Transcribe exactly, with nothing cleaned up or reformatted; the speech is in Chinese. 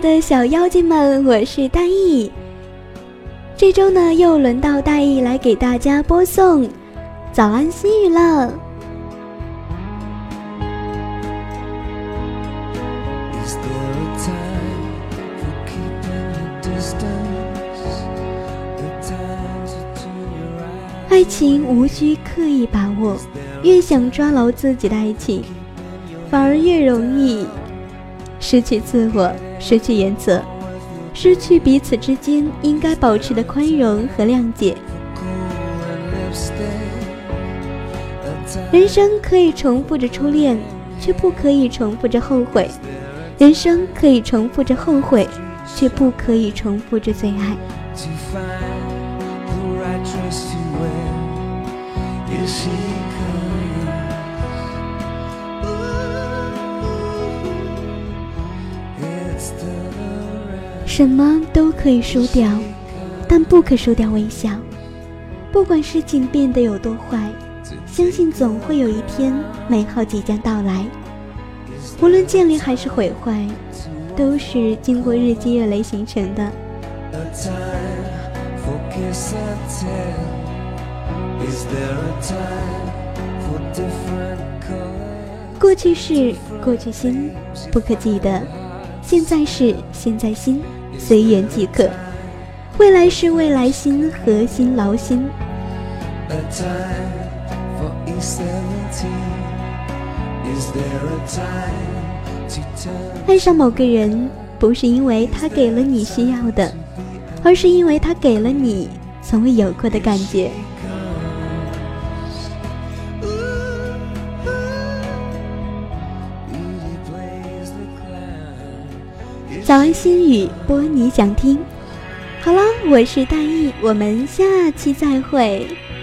的小妖精们，我是大意。这周呢，又轮到大意来给大家播送早安心语了。爱情无需刻意把握，越想抓牢自己的爱情，反而越容易失去自我，失去原则，失去彼此之间应该保持的宽容和谅解。人生可以重复着初恋，却不可以重复着后悔；人生可以重复着后悔，却不可以重复着最爱。什么都可以输掉，但不可输掉微笑。不管事情变得有多坏，相信总会有一天美好即将到来。无论建立还是毁坏，都是经过日积月累形成的。过去是过去心，不可记得；现在是现在心，随缘即可；未来是未来心，核心劳心。爱上某个人，不是因为他给了你需要的，而是因为他给了你从未有过的感觉。早安心语，播你想听。好了，我是大意，我们下期再会。